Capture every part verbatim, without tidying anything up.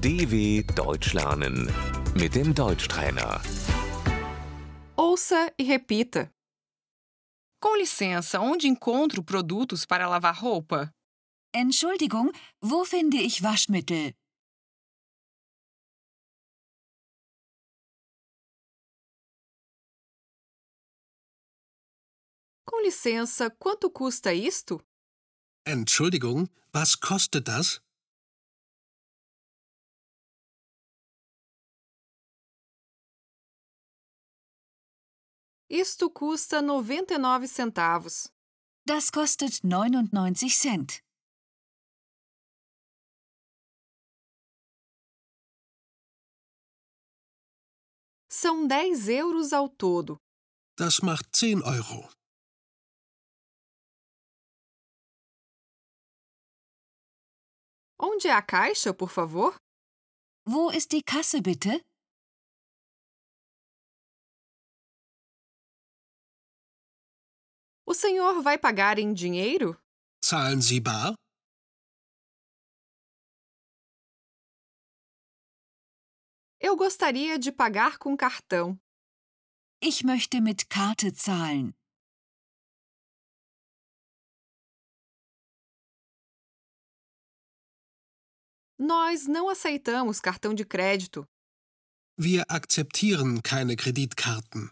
D W Deutsch lernen mit dem Deutschtrainer. Ouça e repita. Com licença, onde encontro produtos para lavar roupa? Entschuldigung, wo finde ich Waschmittel? Com licença, quanto custa isto? Entschuldigung, was kostet das? Isto custa noventa e nove centavos. Das kostet neunundneunzig Cent. São dez euros ao todo. Das macht zehn Euro. Onde é a caixa, por favor? Wo ist die Kasse bitte? O senhor vai pagar em dinheiro? Zahlen Sie bar? Eu gostaria de pagar com cartão. Ich möchte mit Karte zahlen. Nós não aceitamos cartão de crédito. Wir akzeptieren keine Kreditkarten.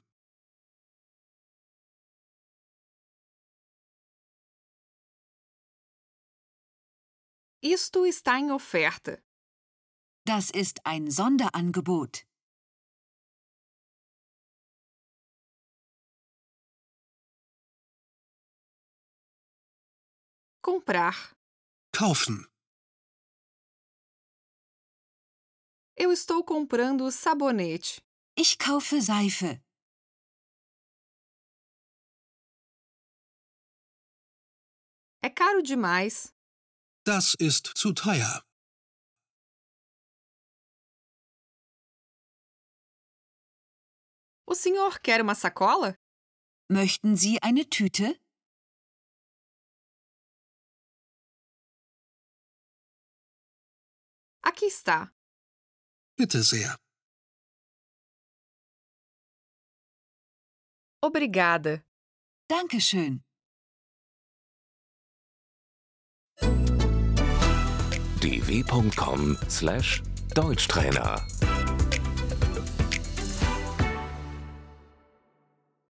Isto está em oferta. Das ist ein Sonderangebot. Comprar. Kaufen. Eu estou comprando sabonete. Ich kaufe Seife. É caro demais. Das ist zu teuer. O senhor quer uma sacola? Möchten Sie eine Tüte? Aqui está. Bitte sehr. Obrigada. Dankeschön. d w punkt com slash Deutschtrainer